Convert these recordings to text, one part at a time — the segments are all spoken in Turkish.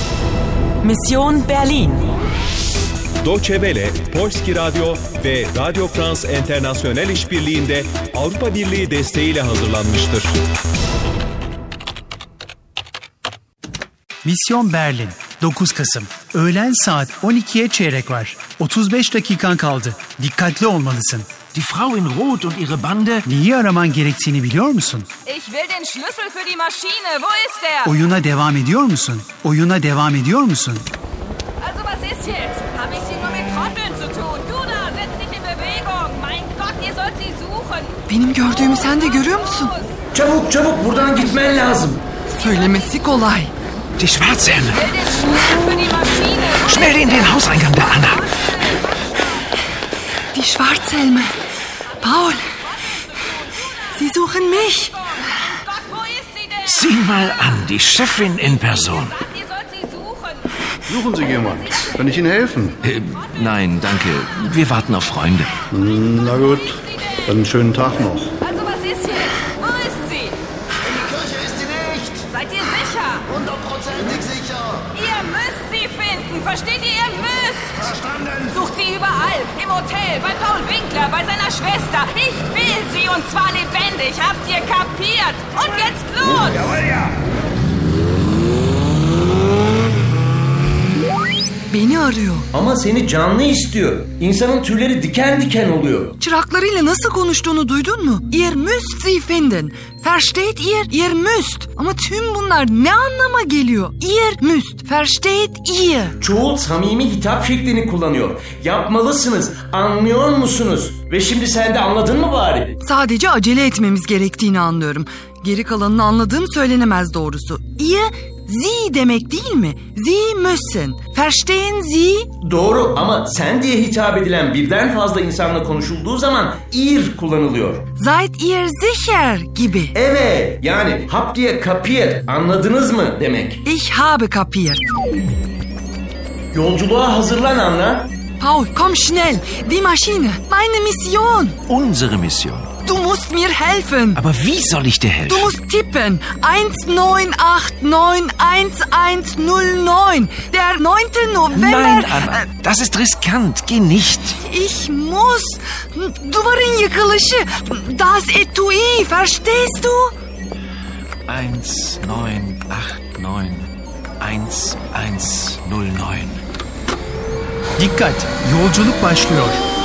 Mission Berlin. Deutsche Welle, Polski Radyo ve Radio France International işbirliğinde Avrupa Birliği desteğiyle hazırlanmıştır. Mission Berlin, 9 Kasım. Öğlen saat 12'ye çeyrek var. 35 dakikan kaldı. Dikkatli olmalısın. Die Frau in Rot und ihre Bande. Neyi araman gerektiğini biliyor musun? Ich will den Schlüssel für die Maschine. Wo ist der? Oyuna devam ediyor musun? Oyuna devam ediyor musun? Also was ist jetzt? Habe ich sie nur mit Trotteln zu tun? Du da, setz dich in Bewegung. Mein Gott, ihr sollt sie suchen. Benim gördüğümü sen de görüyor musun? Çabuk çabuk buradan gitmen lazım. Söylemesi kolay. Die Schwarzhelme. Ich will den Schlüssel für die Maschine. Schnell in den Hauseingang der Anna. Die Schwarzhelme. Paul. Sie suchen mich. Gott, wo ist sie denn? Sieh mal an, die Chefin in Person. Ihr sollt sie suchen. Suchen Sie jemand? Kann ich Ihnen helfen? Nein, danke. Wir warten auf Freunde. Na gut, dann einen schönen Tag noch. Also was ist jetzt? Wo ist sie? In die Kirche ist sie nicht. Seid ihr sicher? 100%ig sicher. Ihr müsst sie finden. Versteht ihr? Ihr müsst. Verstanden. Sucht sie überall. Im Hotel, bei Paul Winkler, bei seiner Schwester. Ich will sie und zwar lebendig. Habt ihr kapiert? Und jetzt los! Jawohl, ja. Beni arıyor. Ama seni canlı istiyor. İnsanın tüyleri diken diken oluyor. Çıraklarıyla nasıl konuştuğunu duydun mu? Ihr müsst sie finden. Versteht ihr? Ihr müsst. Ama tüm bunlar ne anlama geliyor? Ihr müsst. Versteht ihr? Çoğul samimi hitap şeklini kullanıyor. Yapmalısınız. Anlıyor musunuz? Ve şimdi sen de anladın mı bari? Sadece acele etmemiz gerektiğini anlıyorum. Geri kalanını anladığım söylenemez doğrusu. Ihr Sie demek değil mi? Sie müssen. Verstehen Sie? Doğru ama sen diye hitap edilen birden fazla insanla konuşulduğu zaman ihr kullanılıyor. Seid ihr sicher gibi. Evet, yani habt ihr kapiert, anladınız mı demek. Ich habe kapiert. Yolculuğa hazırlan Anna. Paul, komm schnell. Die Maschine. Meine Mission. Unsere Mission. Du musst mir helfen. Aber wie soll ich dir helfen? Du musst tippen. 19891109. Der 9. November. Nein, Anna, das ist riskant. Geh nicht. Ich muss. Duvarın yıkılışı. Das Etui. Verstehst du? 19891109. Dikkat! Yolculuk başlıyor.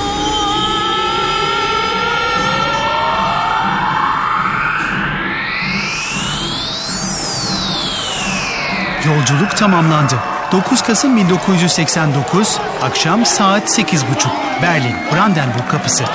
Yolculuk tamamlandı. 9 Kasım 1989, akşam saat 8.30. Berlin, Brandenburg Kapısı.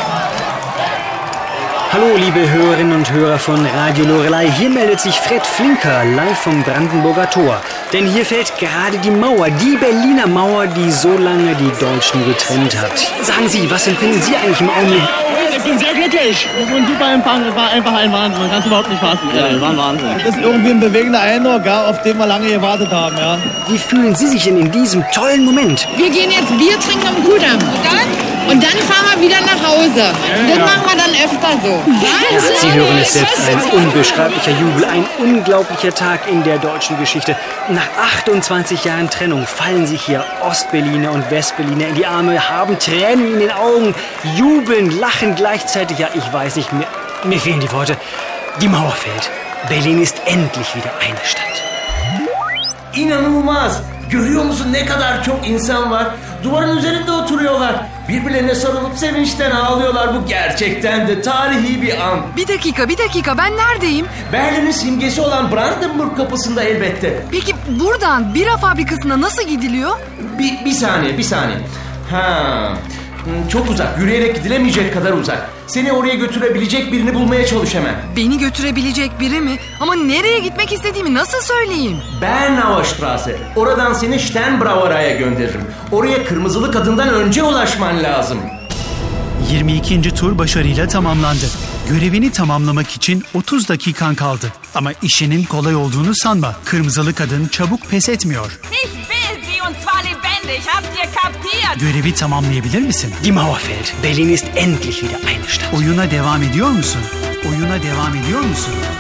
Hallo liebe Hörerinnen und Hörer von Radio Loreley, hier meldet sich Fred Flinker live vom Brandenburger Tor. Denn hier fällt gerade die Mauer, die Berliner Mauer, die so lange die Deutschen getrennt hat. Sagen Sie, was empfinden Sie eigentlich im Augenblick? Ich bin sehr glücklich. So ein super Empfang, das war einfach ein Wahnsinn. Man kann es überhaupt nicht fassen. Ja, war ein Wahnsinn. Das ist irgendwie ein bewegender Eindruck, ja, auf den wir lange gewartet haben. Ja. Wie fühlen Sie sich denn in diesem tollen Moment? Wir gehen jetzt Bier trinken am Kudamm. Und dann fahren wir wieder nach Hause. Das machen wir dann öfter so. Ja, Sie hören es selbst, ein unbeschreiblicher Jubel, ein unglaublicher Tag in der deutschen Geschichte. Nach 28 Jahren Trennung fallen sich hier Ostberliner und Westberliner in die Arme, haben Tränen in den Augen, jubeln, lachen gleichzeitig. Ja, ich weiß nicht, mir fehlen die Worte. Die Mauer fällt. Berlin ist endlich wieder eine Stadt. İnanılmaz. Görüyor musun ne kadar çok insan var? Duvarın üzerinde oturuyorlar. Birbirlerine sarılıp sevinçten ağlıyorlar. Bu gerçekten de tarihi bir an. Bir dakika. Ben neredeyim? Berlin'in simgesi olan Brandenburg Kapısı'nda elbette. Peki buradan bira fabrikasına nasıl gidiliyor? Bir saniye. Ha, çok uzak. Yürüyerek gidilemeyecek kadar uzak. Seni oraya götürebilecek birini bulmaya çalış hemen. Beni götürebilecek biri mi? Ama nereye gitmek istediğimi nasıl söyleyeyim? Bernauer Straße. Oradan seni Sternbrauerei'ye gönderirim. Oraya Kırmızılı Kadın'dan önce ulaşman lazım. 22. tur başarıyla tamamlandı. Görevini tamamlamak için 30 dakikan kaldı. Ama işinin kolay olduğunu sanma. Kırmızılı Kadın çabuk pes etmiyor. Ich will sie und zwar lebendig. Habt ihr kapiert? Görevi tamamlayabilir misin? Die Mauer fällt. Berlin ist endlich wieder eine Stadt. Oyuna devam ediyor musun?